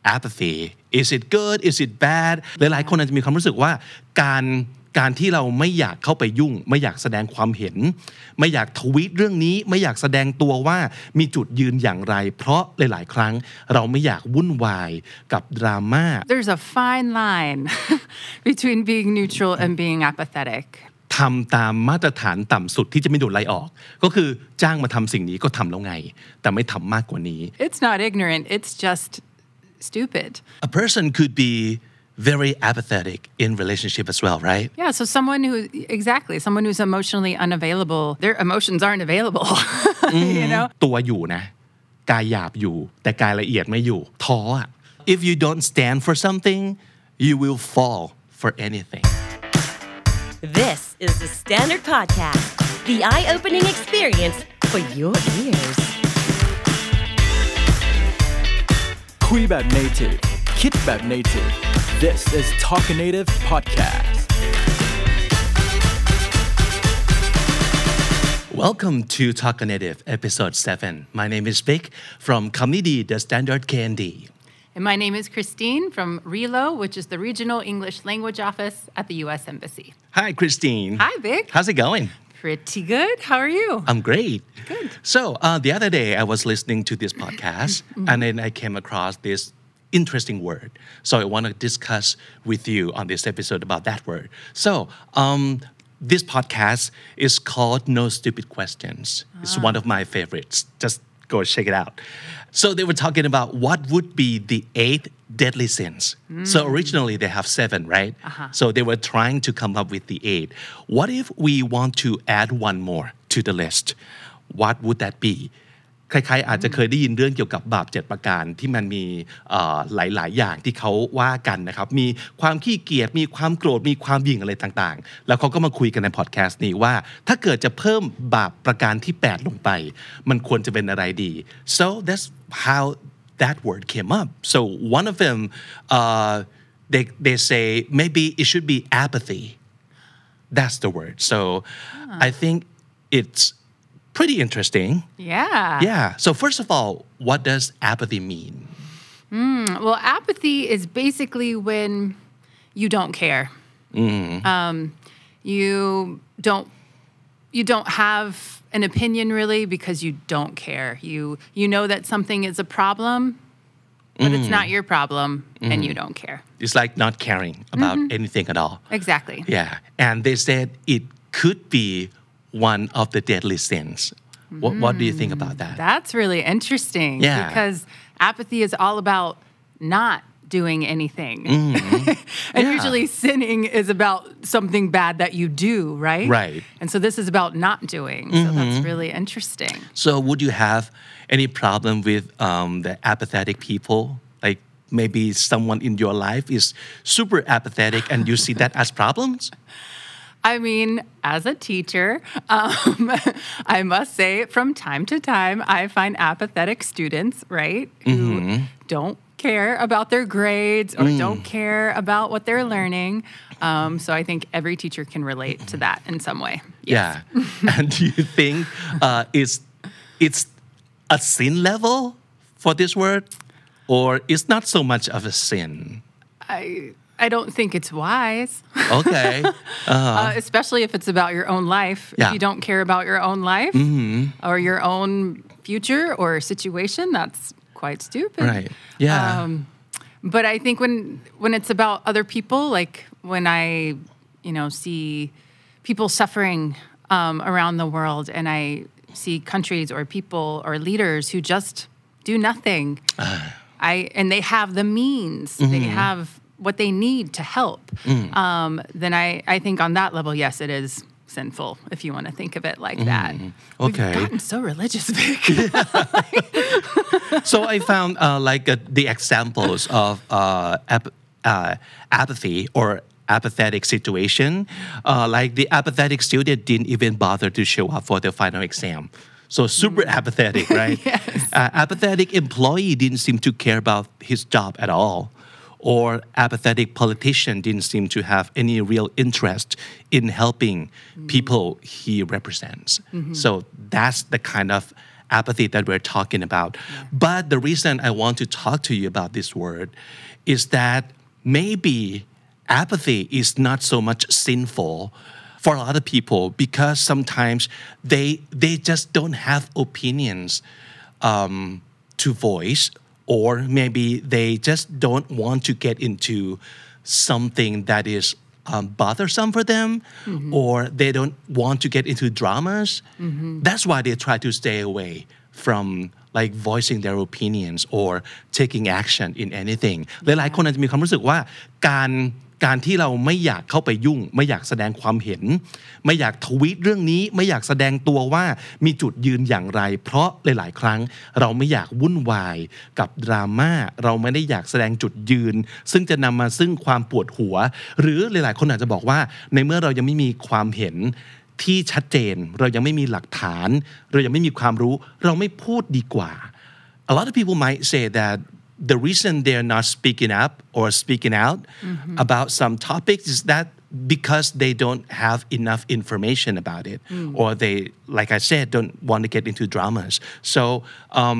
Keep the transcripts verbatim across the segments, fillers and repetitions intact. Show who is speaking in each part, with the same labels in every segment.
Speaker 1: apathy is it good is it bad หลายๆคนอาจจะมีความรู้สึกว่าการการที่เราไม่อยากเข้าไปยุ่งไม่อยากแสดงความเห็นไม่อยากทวีตเรื่องนี้ไม่อยากแสดงตัวว่ามีจุดยืนอย่างไรเพราะหลายๆครั้งเราไม่อยากวุ่นวายกับดราม่า
Speaker 2: There's a fine line between being neutral and being apathetic
Speaker 1: ทำตามมาตรฐานต่ำสุดที่จะไม่โดนไล่ออกก็คือจ้างมาทำสิ่งนี้ก็ทำแล้วไงแต่ไม่ทำมากกว่านี้
Speaker 2: It's not ignorant it's just stupid
Speaker 1: A person could be very apathetic in relationship as well right
Speaker 2: Yeah so someone who exactly someone who's emotionally unavailable their emotions aren't available you know
Speaker 1: ตัวอยู่นะกายหยาบอยู่แต่กายละเอียดไม่อยู่ท้ออ่ะ If you don't stand for something you will fall for anything
Speaker 3: This is the Standard Podcast the eye-opening experience for your ears
Speaker 4: คุยแบบ native คิดแบบ native This is Talk Native Podcast
Speaker 1: Welcome to Talk Native episode seven My name is Vic from Comedy The Standard K N D
Speaker 2: And my name is Christine from R E L O which is the Regional English Language Office at the U S Embassy
Speaker 1: Hi Christine
Speaker 2: Hi Vic
Speaker 1: How's it going?
Speaker 2: Pretty good How are you?
Speaker 1: I'm great
Speaker 2: Good
Speaker 1: So uh, the other day I was listening to this podcast mm-hmm. and then I came across this interesting word so I want to discuss with you on this episode about that word so um, this podcast is called No Stupid Questions ah. It's one of my favorites just go check it out so they were talking about what would be the eight deadly sins mm. so originally they have seven right uh-huh. so they were trying to come up with the eight what if we want to add one more to the list what would that beใครๆอาจจะเคยได้ยินเรื่องเกี่ยวกับบาปเจ็ดประการที่มันมีหลายๆอย่างที่เขาว่ากันนะครับมีความขี้เกียจมีความโกรธมีความหยิ่งอะไรต่างๆแล้วเขาก็มาคุยกันในพอดแคสต์นี้ว่าถ้าเกิดจะเพิ่มบาปประการที่แปดลงไปมันควรจะเป็นอะไรดี so that's how that word came up so one of them uh, they they say maybe it should be apathy that's the word so huh. I think it's pretty interesting.
Speaker 2: Yeah.
Speaker 1: Yeah. So first of all, what does apathy mean?
Speaker 2: Mm, well, apathy is basically when you don't care.
Speaker 1: Mm.
Speaker 2: Um, you don't you don't have an opinion really because you don't care. You you know that something is a problem, but mm. it's not your problem mm. and you don't care.
Speaker 1: It's like not caring about mm-hmm. anything at all.
Speaker 2: Exactly.
Speaker 1: Yeah. And they said it could be one of the deadly sins. What, mm. what do you think about that?
Speaker 2: That's really interesting.
Speaker 1: Yeah.
Speaker 2: Because apathy is all about not doing anything.
Speaker 1: Mm.
Speaker 2: and
Speaker 1: yeah.
Speaker 2: usually sinning is about something bad that you do, right?
Speaker 1: Right.
Speaker 2: And so this is about not doing.
Speaker 1: Mm-hmm.
Speaker 2: So that's really interesting.
Speaker 1: So would you have any problem with um, the apathetic people? Like maybe someone in your life is super apathetic and you see that as problems?
Speaker 2: I mean, as a teacher, um, I must say from time to time, I find apathetic students, right, who mm-hmm. don't care about their grades or mm. don't care about what they're learning. Um, so I think every teacher can relate to that in some way. Yes.
Speaker 1: Yeah. And do you think uh, it's, it's a sin level for this word or it's not so much of a sin?
Speaker 2: I... I don't think it's wise.
Speaker 1: Okay. Uh-huh.
Speaker 2: uh, especially if it's about your own life.
Speaker 1: Yeah.
Speaker 2: If you don't care about your own life
Speaker 1: mm-hmm.
Speaker 2: or your own future or situation, that's quite stupid.
Speaker 1: Right. Yeah. Um,
Speaker 2: but I think when when it's about other people, like when I, you know, see people suffering um, around the world and I see countries or people or leaders who just do nothing,
Speaker 1: uh.
Speaker 2: I and they have the means, mm-hmm. they have what they need to help, mm. um, then I, I think on that level, yes, it is sinful, if you want to think of it like mm. that.
Speaker 1: Okay.
Speaker 2: We've gotten so religious, Vic.
Speaker 1: So I found uh, like uh, the examples of uh, ap- uh, apathy or apathetic situation. Uh, like the apathetic student didn't even bother to show up for the final exam. So super mm. apathetic, right?
Speaker 2: Yes.
Speaker 1: Uh, apathetic employee didn't seem to care about his job at all. Or apathetic politician didn't seem to have any real interest in helping mm. people he represents. Mm-hmm. So that's the kind of apathy that we're talking about. Yeah. But the reason I want to talk to you about this word is that maybe apathy is not so much sinful for a lot of people because sometimes they they just don't have opinions um, to voice, or maybe they just don't want to get into something that is um, bothersome for them, mm-hmm. or they don't want to get into dramas. Mm-hmm. That's why they try to stay away from like voicing their opinions or taking action in anything. หลายๆคนอาจจะมีความรู้สึกว่าการการที่เราไม่อยากเข้าไปยุ่งไม่อยากแสดงความเห็นไม่อยากทวีตเรื่องนี้ไม่อยากแสดงตัวว่ามีจุดยืนอย่างไรเพราะหลายๆครั้งเราไม่อยากวุ่นวายกับดราม่าเราไม่ได้อยากแสดงจุดยืนซึ่งจะนำมาซึ่งความปวดหัวหรือหลายๆคนอาจจะบอกว่าในเมื่อเรายังไม่มีความเห็นที่ชัดเจนเรายังไม่มีหลักฐานเรายังไม่มีความรู้เราไม่พูดดีกว่า A lot of people might say that the reason they're not speaking up or speaking out mm-hmm. about some topics is that because they don't have enough information about it mm. or they like I said don't want to get into dramas so um,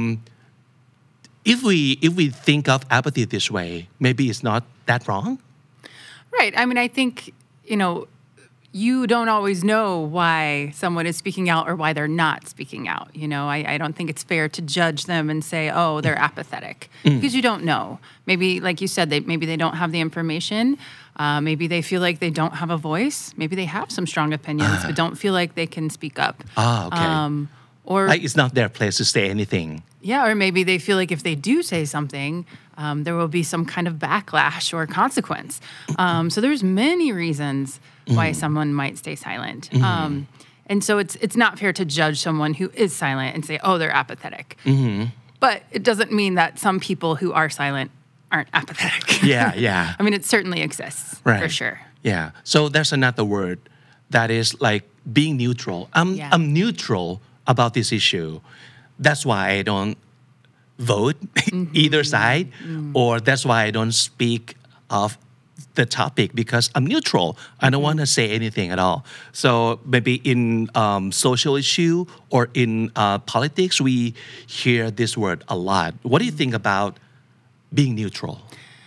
Speaker 1: if we if we think of apathy this way maybe it's not that wrong
Speaker 2: right I mean I think you know you don't always know why someone is speaking out or why they're not speaking out. You know, I, I don't think it's fair to judge them and say, oh, they're apathetic mm. because you don't know. Maybe, like you said, they, maybe they don't have the information. Uh, maybe they feel like they don't have a voice. Maybe they have some strong opinions, uh. but don't feel like they can speak up.
Speaker 1: Ah, okay.
Speaker 2: Um, or
Speaker 1: like it's not their place to say anything.
Speaker 2: Yeah, or maybe they feel like if they do say something, um, there will be some kind of backlash or consequence. Um, so there's many reasons why mm. someone might stay silent. Mm. Um, and so it's it's not fair to judge someone who is silent and say, oh, they're apathetic. Mm-hmm. But it doesn't mean that some people who are silent aren't apathetic.
Speaker 1: Yeah, yeah.
Speaker 2: I mean, it certainly exists,
Speaker 1: right.
Speaker 2: for sure.
Speaker 1: Yeah. So there's another word that is like being neutral. I'm, yeah. I'm neutral about this issue. That's why I don't vote mm-hmm. either side, mm. or that's why I don't speak of the topic because I'm neutral. I don't want to say anything at all. So maybe in um, social issue or in uh, politics, we hear this word a lot. What do you think about being neutral?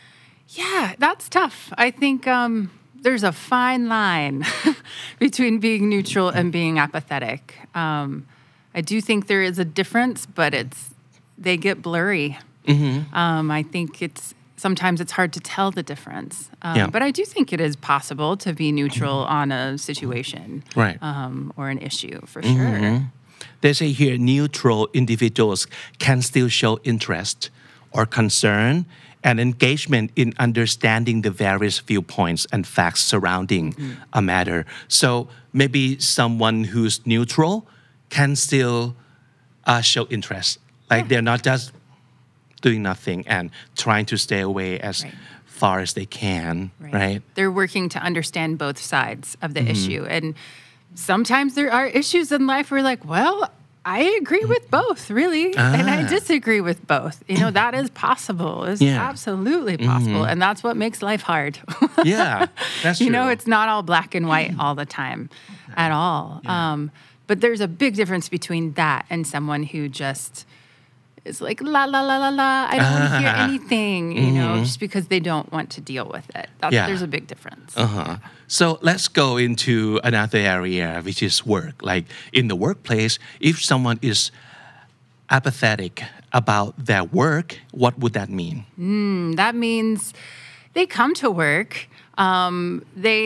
Speaker 2: Yeah, that's tough. I think um, there's a fine line between being neutral and being apathetic. Um, I do think there is a difference, but it's they get blurry. Mm-hmm. Um, I think it's sometimes it's hard to tell the difference. Um, yeah. But I do think it is possible to be neutral on a situation
Speaker 1: right.
Speaker 2: um, or an issue, for
Speaker 1: mm-hmm.
Speaker 2: sure.
Speaker 1: They say here neutral individuals can still show interest or concern and engagement in understanding the various viewpoints and facts surrounding mm-hmm. a matter. So maybe someone who's neutral can still uh, show interest. Like yeah. they're not just doing nothing and trying to stay away as right. far as they can, right. right?
Speaker 2: They're working to understand both sides of the mm-hmm. issue. And sometimes there are issues in life where you're like, well, I agree with both, really. Ah. And I disagree with both. You know, that is possible. It's yeah. absolutely possible. Mm-hmm. And that's what makes life hard.
Speaker 1: yeah, that's true.
Speaker 2: You know, it's not all black and white all the time at all. Yeah. Um, but there's a big difference between that and someone who just is like, la, la, la, la, la, I don't want to hear anything, you mm-hmm. know, just because they don't want to deal with it. That's, yeah. There's a big difference.
Speaker 1: Uh-huh. So let's go into another area, which is work. Like in the workplace, if someone is apathetic about their work, what would that mean?
Speaker 2: Mm, that means they come to work, um, they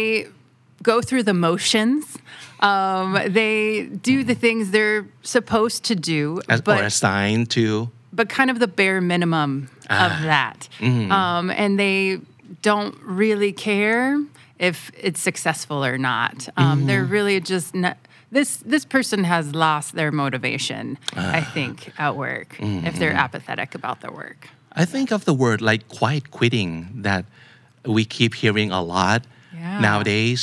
Speaker 2: go through the motions, Um, they do the things they're supposed to do,
Speaker 1: As,
Speaker 2: but,
Speaker 1: or assigned to,
Speaker 2: but kind of the bare minimum ah. of that. Mm-hmm. Um, and they don't really care if it's successful or not. Um, mm-hmm. They're really just not, this. This person has lost their motivation, ah. I think, at work mm-hmm. if they're apathetic about their work.
Speaker 1: I think of the word like quiet quitting that we keep hearing a lot yeah. nowadays.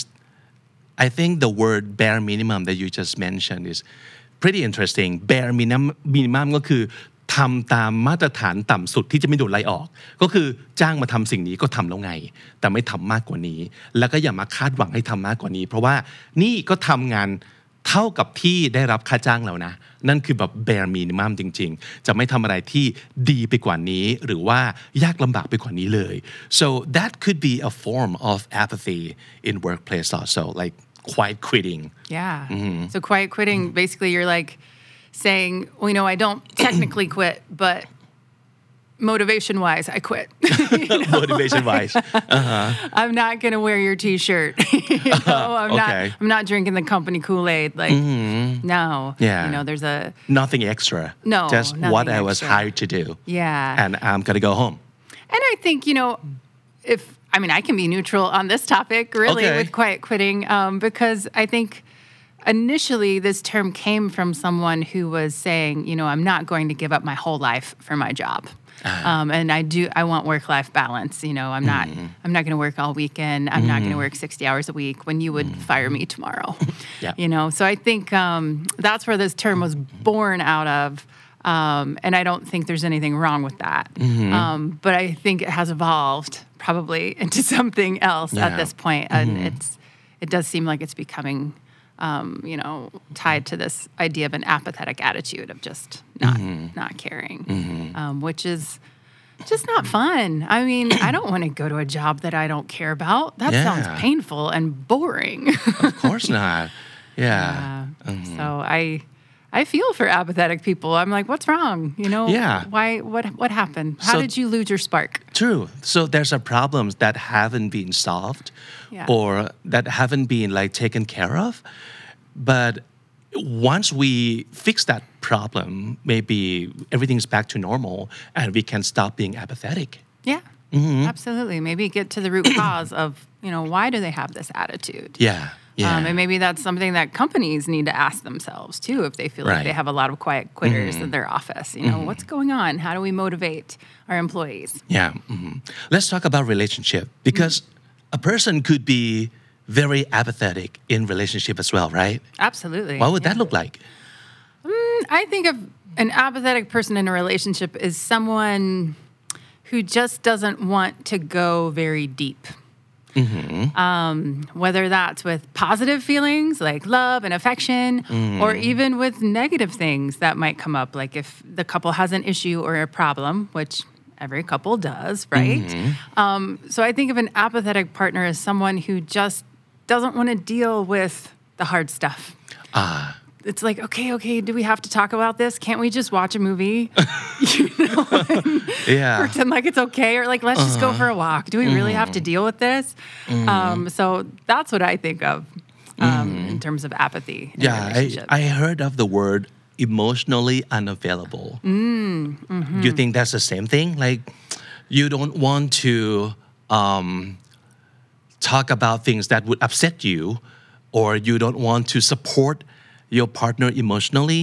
Speaker 1: I think the word bare minimum that you just mentioned is pretty interesting. Bare minimum, minimum ก็คือทำตามมาตรฐานต่ำสุดที่จะไม่โดนไล่ออกก็คือจ้างมาทำสิ่งนี้ก็ทำแล้วไงแต่ไม่ทำมากกว่านี้แล้วก็อย่ามาคาดหวังให้ทำมากกว่านี้เพราะว่านี่ก็ทำงานเท่ากับที่ได้รับค่าจ้างแล้วนะนั่นคือแบบ bare minimum จริงๆจะไม่ทำอะไรที่ดีไปกว่านี้หรือว่ายากลำบากไปกว่านี้เลย so that could be a form of apathy in workplace also like quiet quitting
Speaker 2: yeah so quiet quitting basically you're like saying well you know I don't technically quit but motivation wise I quit you know?
Speaker 1: motivation wise uh-huh.
Speaker 2: I'm not gonna wear your t-shirt you know I'm
Speaker 1: okay.
Speaker 2: not I'm not drinking the company Kool-Aid like mm-hmm. no
Speaker 1: yeah.
Speaker 2: you know there's a
Speaker 1: nothing extra
Speaker 2: no
Speaker 1: just what I was
Speaker 2: extra.
Speaker 1: hired to do
Speaker 2: yeah
Speaker 1: and I'm gonna go home
Speaker 2: and I think you know if I mean I can be neutral on this topic really
Speaker 1: okay.
Speaker 2: with quiet quitting um, because I think initially this term came from someone who was saying you know I'm not going to give up my whole life for my job Uh-huh. Um, and I do. I want work-life balance. You know, I'm not. Mm-hmm. I'm not going to work all weekend. I'm mm-hmm. not going to work sixty hours a week. When you would mm-hmm. fire me tomorrow,
Speaker 1: yeah.
Speaker 2: you know. So I think um, that's where this term was born out of, um, and I don't think there's anything wrong with that. Mm-hmm. Um, but I think it has evolved probably into something else yeah. at this point, and mm-hmm. it's. It does seem like it's becoming. Um, you know, tied to this idea of an apathetic attitude of just not mm-hmm. not caring, mm-hmm. um, which is just not fun. I mean, I don't want to go to a job that I don't care about. That
Speaker 1: yeah.
Speaker 2: sounds painful and boring.
Speaker 1: Of course not. Yeah.
Speaker 2: yeah.
Speaker 1: Mm-hmm.
Speaker 2: So I I feel for apathetic people. I'm like, what's wrong? You know,
Speaker 1: yeah.
Speaker 2: why? What what happened? How so, did you lose your spark?
Speaker 1: True. So there's a problems that haven't been solved, yeah. or that haven't been like taken care of. But once we fix that problem, maybe everything's back to normal, and we can stop being apathetic.
Speaker 2: Yeah, mm-hmm. absolutely. Maybe get to the root cause of you know why do they have this attitude?
Speaker 1: Yeah. Yeah.
Speaker 2: Um, and maybe that's something that companies need to ask themselves too if they feel right. like they have a lot of quiet quitters mm-hmm. in their office. You know, mm-hmm. what's going on? How do we motivate our employees?
Speaker 1: Yeah. Mm-hmm. Let's talk about relationship because mm-hmm. a person could be very apathetic in relationship as well, right?
Speaker 2: Absolutely.
Speaker 1: What would
Speaker 2: yeah.
Speaker 1: that look like?
Speaker 2: Um, I think of an apathetic person in a relationship is someone who just doesn't want to go very deep. Mm-hmm. Um, whether that's with positive feelings like love and affection, mm. or even with negative things that might come up, like if the couple has an issue or a problem, which every couple does, right? Mm-hmm. Um, so I think of an apathetic partner as someone who just doesn't want to deal with the hard stuff.
Speaker 1: Ah.
Speaker 2: It's like, okay, okay, do we have to talk about this? Can't we just watch a movie? you know,
Speaker 1: yeah.
Speaker 2: Pretend like it's okay, or like, let's uh-huh. just go for a walk. Do we mm-hmm. really have to deal with this? Mm-hmm. Um, so that's what I think of um, mm-hmm. in terms of apathy. In
Speaker 1: yeah, I, I heard of the word emotionally unavailable. Mm-hmm. You think that's the same thing? Like, you don't want to um, talk about things that would upset you, or you don't want to support your partner emotionally,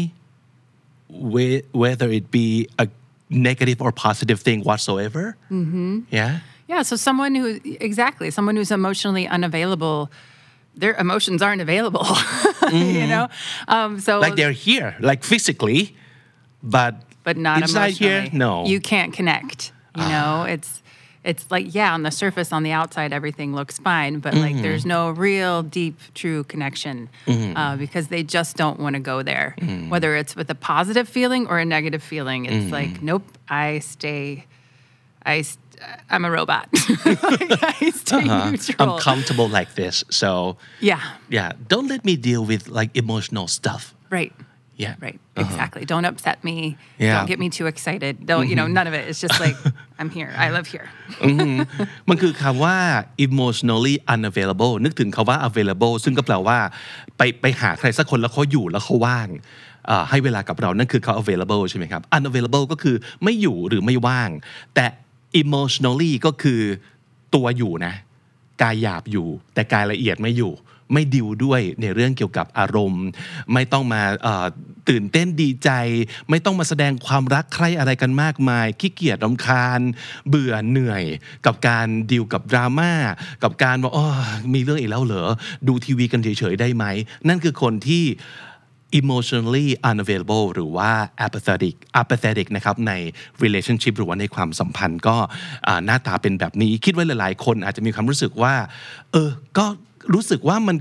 Speaker 1: whether it be a negative or positive thing whatsoever. Mm-hmm. Yeah?
Speaker 2: Yeah, so someone who, exactly, someone who's emotionally unavailable, their emotions aren't available, mm-hmm. you know? Um, so
Speaker 1: like they're here, like physically, but
Speaker 2: but not
Speaker 1: inside
Speaker 2: emotionally.
Speaker 1: Here, no.
Speaker 2: You can't connect, you ah. know? It's it's like, yeah, on the surface, on the outside, everything looks fine, but mm-hmm. like there's no real deep, true connection mm-hmm. uh, because they just don't want to go there. Mm-hmm. Whether it's with a positive feeling or a negative feeling, it's mm-hmm. like, nope, I stay, I, I'm a robot. like, I stay uh-huh. neutral.
Speaker 1: I'm comfortable like this, so
Speaker 2: yeah,
Speaker 1: yeah. Don't let me deal with like emotional stuff.
Speaker 2: Right.
Speaker 1: Yeah.
Speaker 2: Right.
Speaker 1: Uh-huh.
Speaker 2: Exactly. Don't upset me.
Speaker 1: Yeah.
Speaker 2: Don't get me too excited. Don't, mm-hmm. you know, none of it. It's just like, I'm here. I live here.
Speaker 1: มันคือคำว่า emotionally unavailable นึกถึงคำว่า available ซึ่งก็แปลว่าไปไปหาใครสักคนแล้วเขาอยู่แล้วเขาว่างให้เวลากับเรานั่นคือเขา available ใช่ไหมครับ unavailable ก็คือไม่อยู่หรือไม่ว่างแต่ emotionally ก็คือตัวอยู่นะกายหยาบอยู่แต่กายละเอียดไม่อยู่ไม่ดิวด้วยในเรื่องเกี่ยวกับอารมณ์ไม่ต้องมาตื่นเต้นดีใจไม่ต้องมาแสดงความรักใคร่อะไรกันมากมายขี้เกียจรำคาญเบื่อเหนื่อยกับการดิวกับดราม่ากับการว่าอ๋อมีเรื่องอีกแล้วเหรอดูทีวีกันเฉยๆได้ไหมนั่นคือคนที่ emotionally unavailable หรือว่า apathetic apathetic นะครับใน relationship หรือว่าในความสัมพันธ์ก็หน้าตาเป็นแบบนี้คิดว่าหลายๆคนอาจจะมีความรู้สึกว่าเออก็รู้สึกว่ามันก็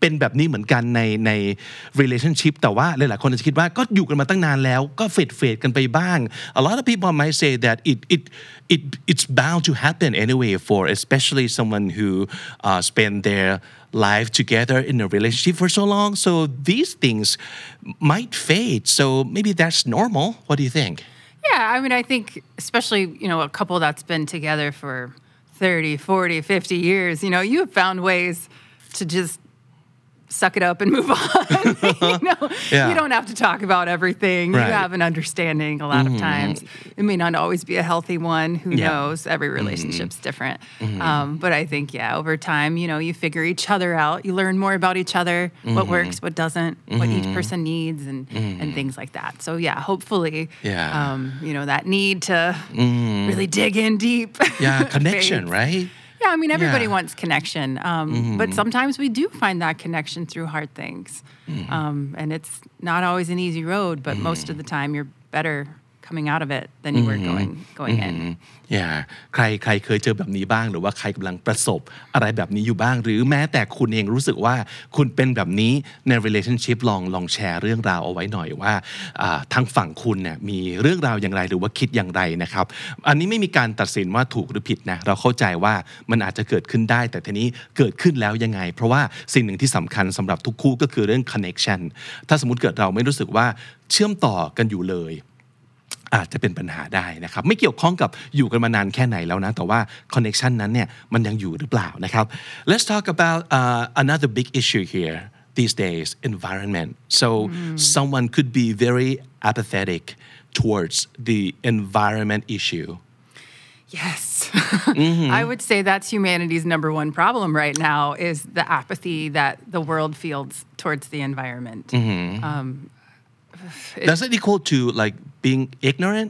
Speaker 1: เป็นแบบนี้เหมือนกันในใน relationship แต่ว่าหลายๆคนจะคิดว่าก็อยู่กันมาตั้งนานแล้วก็เฟดเฟดกันไปบ้าง a lot of people might say that it it it it's bound to happen anyway for especially someone who uh, spend their life together in a relationship for so long so these things might fade so maybe that's normal what do you think
Speaker 2: Yeah, I mean, I think especially, you know, a couple that's been together for thirty, forty, fifty years, you know, you have found ways to just suck it up and move on. you know,
Speaker 1: yeah.
Speaker 2: you don't have to talk about everything.
Speaker 1: Right.
Speaker 2: You have an understanding a lot mm-hmm. of times. It may not always be a healthy one. Who yeah. knows? Every relationship's mm-hmm. different. Mm-hmm. Um, but I think, yeah, over time, you know, you figure each other out. You learn more about each other, mm-hmm. what works, what doesn't, mm-hmm. what each person needs, and mm-hmm. and things like that. So yeah, hopefully,
Speaker 1: yeah.
Speaker 2: um, you know, that need to
Speaker 1: mm-hmm.
Speaker 2: really dig in deep.
Speaker 1: Yeah, connection, right?
Speaker 2: Yeah, I mean, everybody
Speaker 1: yeah.
Speaker 2: wants connection, um, mm-hmm. but sometimes we do find that connection through hard things. Mm-hmm. Um, and it's not always an easy road, but mm-hmm. most of the time you're better coming out of it than you mm-hmm. were going going mm-hmm. in.
Speaker 1: Yeah ใครใครเคยเจอแบบนี้บ้างหรือว่าใครกำลังประสบอะไรแบบนี้อยู่บ้างหรือแม้แต่คุณเองรู้สึกว่าคุณเป็นแบบนี้ใน relationship ลองลองแชร์เรื่องราวเอาไว้หน่อยว่าทางฝั่งคุณเนี่ยมีเรื่องราวอย่างไรหรือว่าคิดอย่างไรนะครับอันนี้ไม่มีการตัดสินว่าถูกหรือผิดนะเราเข้าใจว่ามันอาจจะเกิดขึ้นได้แต่ทีนี้เกิดขึ้นแล้วยังไงเพราะว่าสิ่งหนึ่งที่สำคัญสำหรับทุกคู่ก็คือเรื่อง connection ถ้าสมมุติเกิดเราไม่รู้สึกว่าเชื่อมต่อกันอยู่เลยอาจจะเป็นปัญหาได้นะครับไม่เกี่ยวข้องกับอยู่กันมานานแค่ไหนแล้วนะแต่ว่า connection นั้นเนี่ยมันยังอยู่หรือเปล่านะครับ Let's talk about uh, another big issue here these days environment so mm. someone could be very apathetic towards the environment issue
Speaker 2: Yes. mm-hmm. I would say that's humanity's number one problem right now is the apathy that the world feels towards the environment. Mm-hmm. Um,
Speaker 1: it, Does it equal to like being ignorant?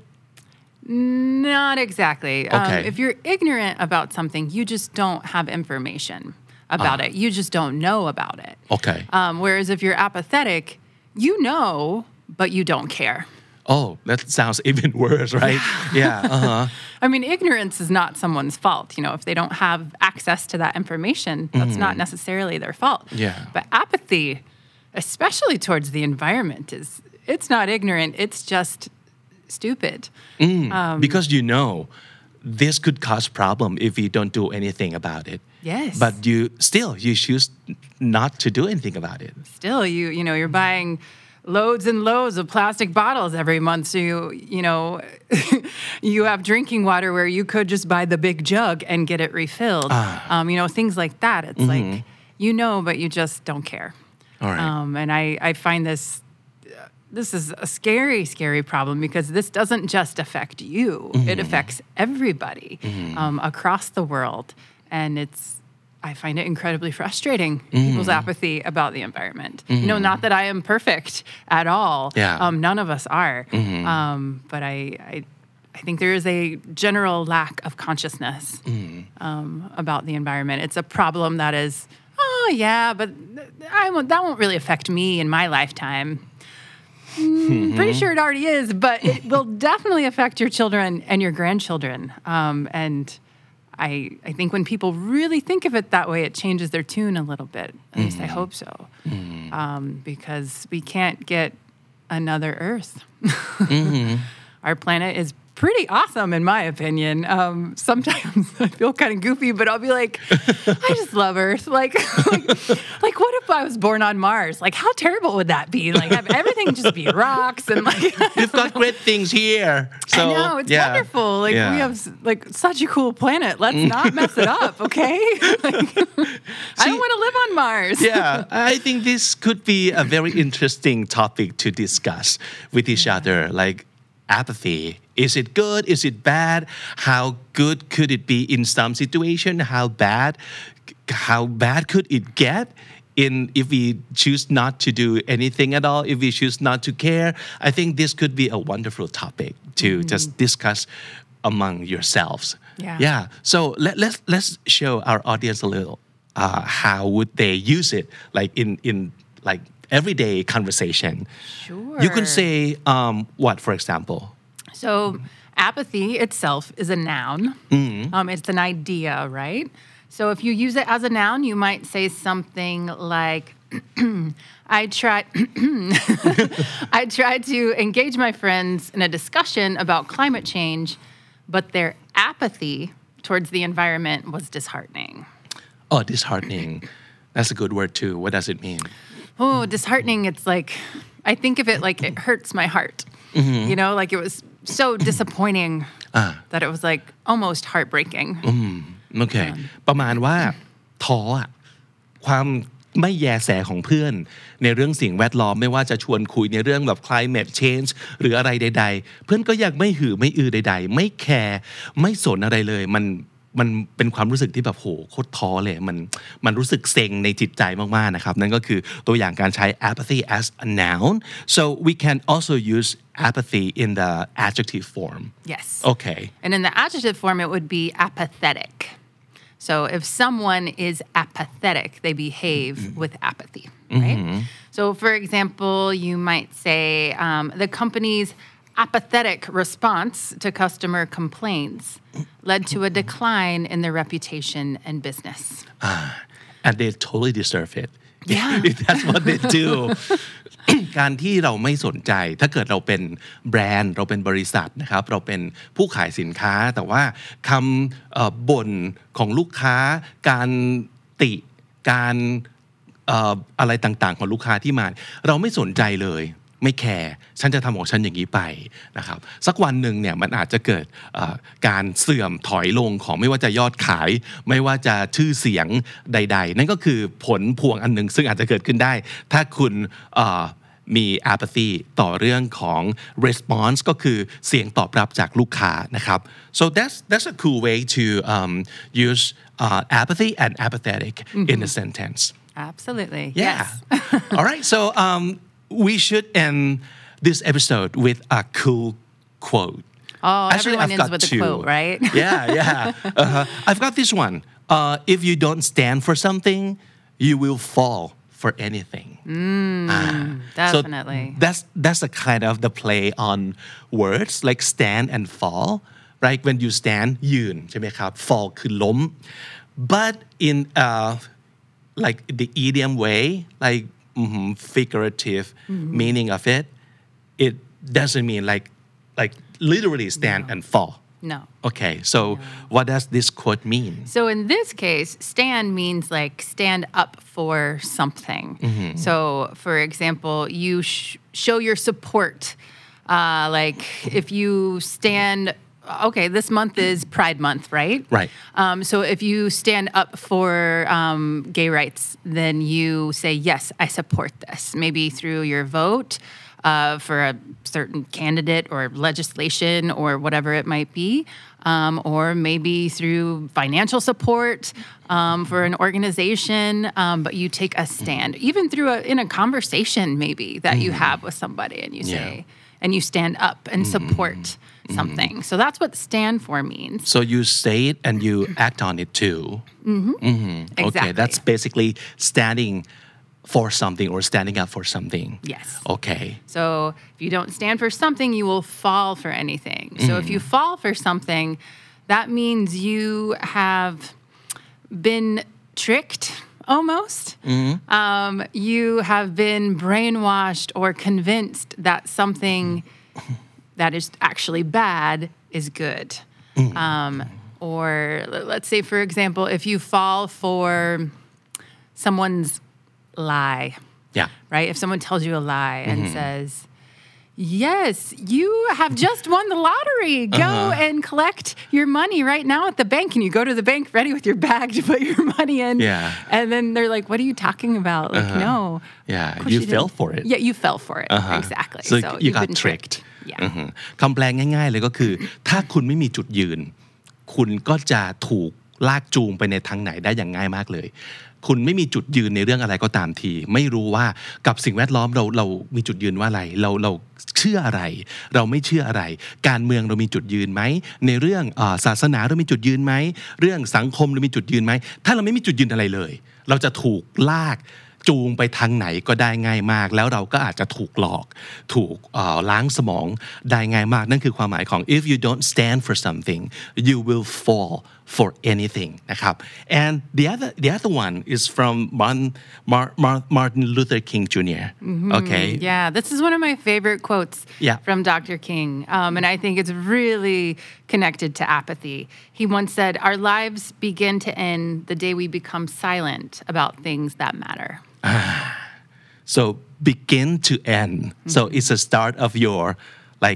Speaker 2: Not exactly.
Speaker 1: Okay.
Speaker 2: Um, if you're ignorant about something, you just don't have information about uh. it. You just don't know about it.
Speaker 1: Okay.
Speaker 2: Um, whereas if you're apathetic, you know, but you don't care.
Speaker 1: Oh, that sounds even worse, right? Yeah. Uh-huh.
Speaker 2: I mean, ignorance is not someone's fault. You know, if they don't have access to that information, that's mm-hmm. not necessarily their fault.
Speaker 1: Yeah.
Speaker 2: But apathy, especially towards the environment, is it's not ignorant. It's just stupid.
Speaker 1: Mm, um, because you know this could cause problem if you don't do anything about it.
Speaker 2: Yes.
Speaker 1: But you still you choose not to do anything about it.
Speaker 2: Still, you you know you're buying loads and loads of plastic bottles every month. So you you know you have drinking water where you could just buy the big jug and get it refilled. Ah. Um, you know things like that. It's mm-hmm. like you know, but you just don't care.
Speaker 1: All right.
Speaker 2: Um, and I I find this. This is a scary, scary problem because this doesn't just affect you. Mm-hmm. It affects everybody mm-hmm. um, across the world. And it's, I find it incredibly frustrating, mm-hmm. people's apathy about the environment. Mm-hmm. You know, not that I am perfect at all.
Speaker 1: Yeah.
Speaker 2: Um, none of us are. Mm-hmm. Um, but I, I, I think there is a general lack of consciousness mm-hmm. um, about the environment. It's a problem that is, oh, yeah, but I won't, that won't really affect me in my lifetime. Mm, pretty sure it already is, but it will definitely affect your children and your grandchildren. Um, and I, I think when people really think of it that way, it changes their tune a little bit. At mm-hmm. least I hope so. Mm-hmm. Um, because we can't get another Earth. mm-hmm. Our planet is pretty awesome, in my opinion. Um, sometimes I feel kind of goofy, but I'll be like, I just love Earth. Like, like, like, what if I was born on Mars? Like, how terrible would that be? Like, have everything just be rocks and like.
Speaker 1: You've got great things here. So,
Speaker 2: I know it's
Speaker 1: yeah.
Speaker 2: wonderful. Like,
Speaker 1: yeah.
Speaker 2: we have like such a cool planet. Let's not mess it up, okay? Like, See, I don't want to live on Mars.
Speaker 1: Yeah, I think this could be a very interesting topic to discuss with each yeah. other. Like. Apathy. Is it good? Is it bad? How good could it be in some situation? How bad? How bad could it get in if we choose not to do anything at all? If we choose not to care? I think this could be a wonderful topic to mm-hmm. just discuss among yourselves.
Speaker 2: Yeah.
Speaker 1: Yeah. So let, let's let's show our audience a little. Uh, how would they use it? Like in in like. everyday conversation.
Speaker 2: Sure.
Speaker 1: You can say um, what, for example?
Speaker 2: So apathy itself is a noun. Mm-hmm. Um, it's an idea, right? So if you use it as a noun, you might say something like, I try I tried to engage my friends in a discussion about climate change, but their apathy towards the environment was disheartening.
Speaker 1: Oh, disheartening. That's a good word too. What does it mean?
Speaker 2: Oh, disheartening. It's like, I think of it like it hurts my heart. Mm-hmm. You know, like it was so disappointing uh. that it was like almost heartbreaking.
Speaker 1: โอเค ประมาณว่าท้ออะความไม่แยแสของเพื่อนในเรื่องสิ่งแวดล้อมไม่ว่าจะชวนคุยในเรื่องแบบ climate change หรืออะไรใดๆเพื่อนก็ยังไม่หือไม่อือใดๆไม่แคร์ไม่สนอะไรเลยมันมันเป็นความรู้สึกที่แบบโหโคตรท้อเลยมันมันรู้สึกเซ็งในจิตใจมากๆนะครับนั่นก็คือตัวอย่างการใช้ apathy as a noun so we can also use apathy in the adjective form
Speaker 2: yes
Speaker 1: okay
Speaker 2: and in the adjective form it would be apathetic so if someone is apathetic they behave mm-hmm. with apathy right mm-hmm. so for example you might say um, the company's apathetic response to customer complaints led to a decline in their reputation and business.
Speaker 1: Ah, and they totally deserve it.
Speaker 2: Yeah.
Speaker 1: If that's what they do. การที่เราไม่สนใจถ้าเกิดเราเป็นแบรนด์เราเป็นบริษัทนะครับเราเป็นผู้ขายสินค้าแต่ว่าคำบ่นของลูกค้าการติการอะไรต่างๆของลูกค้าที่มาเราไม่สนใจเลยไม่แคร์ฉันจะทำของฉันอย่างนี้ไปนะครับสักวันหนึ่งเนี่ยมันอาจจะเกิดการเสื่อมถอยลงของไม่ว่าจะยอดขายไม่ว่าจะชื่อเสียงใดๆนั่นก็คือผลพวงอันหนึ่งซึ่งอาจจะเกิดขึ้นได้ถ้าคุณมี apathy ต่อเรื่องของ response ก็คือเสียงตอบรับจากลูกค้านะครับ so that's that's a cool way to um, use uh, apathy and apathetic mm-hmm. in a sentence
Speaker 2: absolutely
Speaker 1: yeah
Speaker 2: yes.
Speaker 1: all right so um, we should end this episode with a cool quote.
Speaker 2: Oh,
Speaker 1: Actually,
Speaker 2: everyone
Speaker 1: I've
Speaker 2: ends
Speaker 1: got
Speaker 2: with
Speaker 1: two.
Speaker 2: a quote, right?
Speaker 1: yeah, yeah. Uh-huh. I've got this one. Uh, if you don't stand for something, you will fall for anything.
Speaker 2: Mm, ah. Definitely.
Speaker 1: So that's that's a kind of the play on words like stand and fall. Right? When you stand, ยืนใช่ไหมครับ fall คือล้ม But in uh, like the idiom way, like Mm-hmm, figurative mm-hmm. meaning of it, it doesn't mean like like literally stand no. and fall.
Speaker 2: No.
Speaker 1: Okay, so no. what does this quote mean?
Speaker 2: So in this case, stand means like stand up for something. Mm-hmm. So for example, you sh- show your support. Uh, like if you stand okay, this month is Pride Month, right?
Speaker 1: Right.
Speaker 2: Um, so if you stand up for um, gay rights, then you say, yes, I support this. Maybe through your vote uh, for a certain candidate or legislation or whatever it might be. Um, or maybe through financial support um, for an organization, um, but you take a stand. Even through a, in a conversation maybe that mm. you have with somebody and you say, yeah. and you stand up and support mm. something. So that's what stand for means.
Speaker 1: So you say it and you act on it too.
Speaker 2: Mm-hmm.
Speaker 1: Mm-hmm.
Speaker 2: Exactly.
Speaker 1: Okay, that's basically standing for something or standing up for something.
Speaker 2: Yes.
Speaker 1: Okay.
Speaker 2: So if you don't stand for something, you will fall for anything. So mm. if you fall for something, that means you have been tricked almost. Mm-hmm. Um, you have been brainwashed or convinced that something that is actually bad is good. Mm. Um, or let's say, for example, if you fall for someone's lie,
Speaker 1: yeah,
Speaker 2: right? If someone tells you a lie and mm-hmm. says, yes, you have just won the lottery. Go uh-huh. and collect your money right now at the bank. And you go to the bank ready with your bag to put your money in.
Speaker 1: Yeah.
Speaker 2: And then they're like, what are you talking about? Like,
Speaker 1: uh-huh.
Speaker 2: no.
Speaker 1: Yeah, you, you fell for it.
Speaker 2: Yeah, you fell for it.
Speaker 1: Uh-huh.
Speaker 2: Exactly.
Speaker 1: So,
Speaker 2: so
Speaker 1: you
Speaker 2: you've
Speaker 1: got
Speaker 2: been
Speaker 1: tricked.
Speaker 2: tricked. Yeah.
Speaker 1: Uh-huh. คำแปลงง่ายๆเลยก็คือถ้าคุณไม่มีจุดยืนคุณก็จะถูกลากจูงไปในทางไหนได้อย่างง่ายมากเลยคุณไม่มีจุดยืนในเรื่องอะไรก็ตามทีไม่รู้ว่ากับสิ่งแวดล้อมเราเรามีจุดยืนว่าอะไรเราเราเชื่ออะไรเราไม่เชื่ออะไรการเมืองเรามีจุดยืนไหมในเรื่องอ่าศาสนาเรามีจุดยืนไหมเรื่องสังคมเรามีจุดยืนไหมถ้าเราไม่มีจุดยืนอะไรเลยเราจะถูกลากจูงไปทางไหนก็ได้ง่ายมากแล้วเราก็อาจจะถูกหลอกถูกล้างสมองได้ง่ายมากนั่นคือความหมายของ if you don't stand for something you will fall for anything นะครับ and the other the other one is from Martin, Mar, Mar, Martin Luther King Junior Mm-hmm. Okay
Speaker 2: yeah this is one of my favorite quotes
Speaker 1: yeah.
Speaker 2: from Doctor King um, and I think it's really connected to apathy. He once said, our lives begin to end the day we become silent about things that matter.
Speaker 1: So begin to end mm-hmm. so it's a start of your like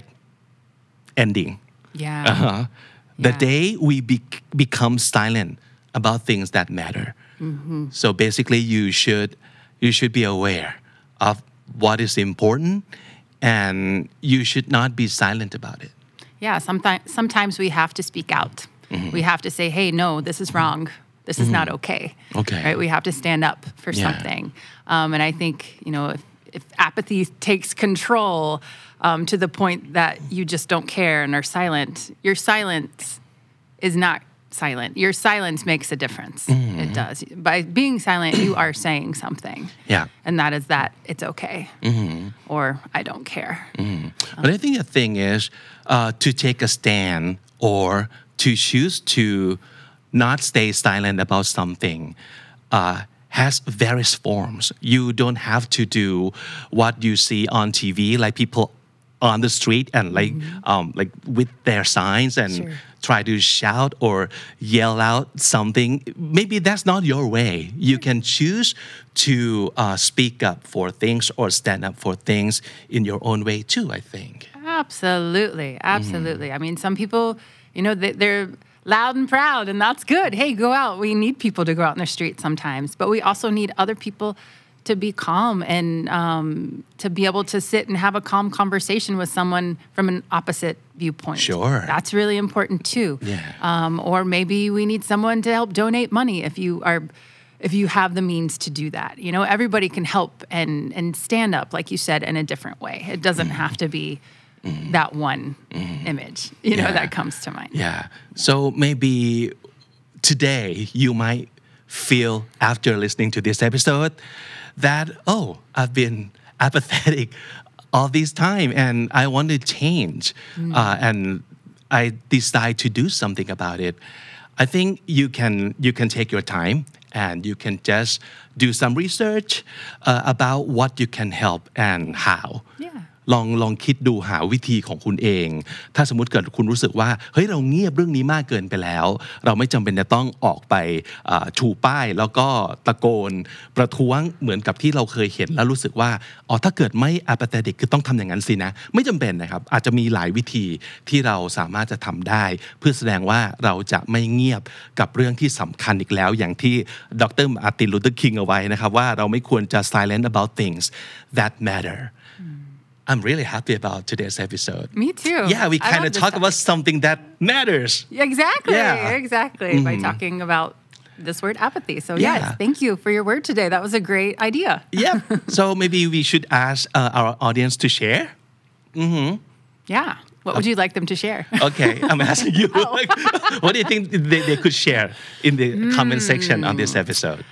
Speaker 1: ending
Speaker 2: yeah
Speaker 1: uh-huh. The
Speaker 2: yeah.
Speaker 1: day we be- become silent about things that matter. Mm-hmm. So basically you should you should be aware of what is important and you should not be silent about it.
Speaker 2: Yeah, sometimes sometimes we have to speak out. Mm-hmm. We have to say, hey, no, this is wrong. This is mm-hmm. not okay.
Speaker 1: Okay.
Speaker 2: Right? We have to stand up for
Speaker 1: yeah.
Speaker 2: something. Um, and I think, you know, if, if apathy takes control um, to the point that you just don't care and are silent, your silence is not silent. Your silence makes a difference. Mm-hmm. It does. By being silent, you are saying something.
Speaker 1: Yeah.
Speaker 2: And that is that it's okay. Mm-hmm. Or I don't care.
Speaker 1: Mm-hmm. But I think the thing is uh, to take a stand or to choose to not stay silent about something uh, has various forms. You don't have to do what you see on T V, like people on the street and like mm-hmm. um, like with their signs and
Speaker 2: sure.
Speaker 1: try to shout or yell out something. Maybe that's not your way. You can choose to uh, speak up for things or stand up for things in your own way too, I think.
Speaker 2: Absolutely. Absolutely. Mm-hmm. I mean, some people, you know, they, they're loud and proud, and that's good. Hey, go out. We need people to go out in the street sometimes, but we also need other people to be calm and um, to be able to sit and have a calm conversation with someone from an opposite viewpoint.
Speaker 1: Sure.
Speaker 2: That's really important too.
Speaker 1: Yeah.
Speaker 2: Um, or maybe we need someone to help donate money if you are, if you have the means to do that. You know, everybody can help and and stand up, like you said, in a different way. It doesn't mm-hmm. have to be mm-hmm. that one mm-hmm. image, you know, yeah. that comes to mind.
Speaker 1: Yeah. So maybe today you might feel after listening to this episode that, oh, I've been apathetic all this time and I want to change mm. uh, and I decide to do something about it. I think you can you can take your time and you can just do some research uh, about what you can help and how.
Speaker 2: Yeah.
Speaker 1: ลองลองคิดดูหาวิธีของคุณเองถ้าสมมุติเกิดคุณรู้สึกว่าเฮ้ยเราเงียบเรื่องนี้มากเกินไปแล้วเราไม่จำเป็นจะต้องออกไปชูป้ายแล้วก็ตะโกนประท้วงเหมือนกับที่เราเคยเห็นแล้วรู้สึกว่าอ๋อถ้าเกิดไม่ apathetic คือต้องทำอย่างนั้นสินะไม่จำเป็นนะครับอาจจะมีหลายวิธีที่เราสามารถจะทำได้เพื่อแสดงว่าเราจะไม่เงียบกับเรื่องที่สำคัญอีกแล้วอย่างที่ดร.มาร์ติน ลูเทอร์ คิงเอาไว้นะครับว่าเราไม่ควรจะ silent about things that matter I'm really happy about today's episode.
Speaker 2: Me too.
Speaker 1: Yeah, we kind of talk topic. about something that matters.
Speaker 2: Exactly.
Speaker 1: Yeah.
Speaker 2: Exactly. Mm-hmm. By talking about this word apathy. So
Speaker 1: yeah.
Speaker 2: yes, thank you for your word today. That was a great idea.
Speaker 1: Yeah. So maybe we should ask uh, our audience to share. Mm-hmm.
Speaker 2: Yeah. What would you like them to share?
Speaker 1: Okay, I'm asking you.
Speaker 2: Oh.
Speaker 1: Like, what do you think they, they could share in the mm. comment section on this episode?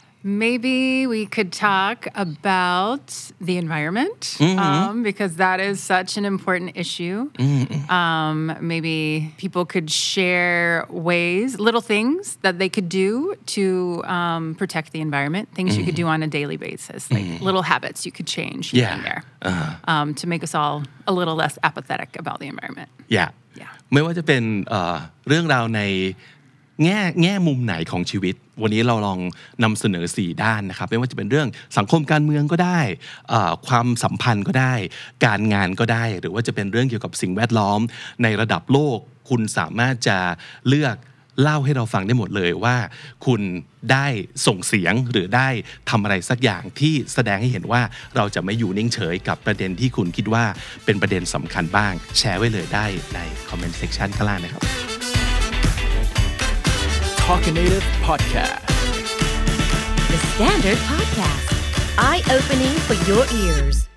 Speaker 2: Maybe we could talk about the environment
Speaker 1: mm-hmm.
Speaker 2: um, because that is such an important issue. Mm-hmm. Um, maybe people could share ways, little things that they could do to um, protect the environment, things mm-hmm. you could do on a daily basis, like mm-hmm. little habits you could change
Speaker 1: yeah.
Speaker 2: in there
Speaker 1: uh-huh.
Speaker 2: um, to make us all a little less apathetic about the environment.
Speaker 1: Yeah.
Speaker 2: Yeah.
Speaker 1: ไม่ว่าจะเป็นเอ่อเรื่องราวในแง่แง่มุมไหนของชีวิตวันนี้เราลองนำเสนอสี่ด้านนะครับไม่ว่าจะเป็นเรื่องสังคมการเมืองก็ได้ความสัมพันธ์ก็ได้การงานก็ได้หรือว่าจะเป็นเรื่องเกี่ยวกับสิ่งแวดล้อมในระดับโลกคุณสามารถจะเลือกเล่าให้เราฟังได้หมดเลยว่าคุณได้ส่งเสียงหรือได้ทำอะไรสักอย่างที่แสดงให้เห็นว่าเราจะไม่อยู่นิ่งเฉยกับประเด็นที่คุณคิดว่าเป็นประเด็นสำคัญบ้างแชร์ไว้เลยได้ในคอมเมนต์เซกชันข้างล่างนะครับ
Speaker 4: Talkinative Podcast.
Speaker 3: The Standard Podcast. Eye-opening for your ears.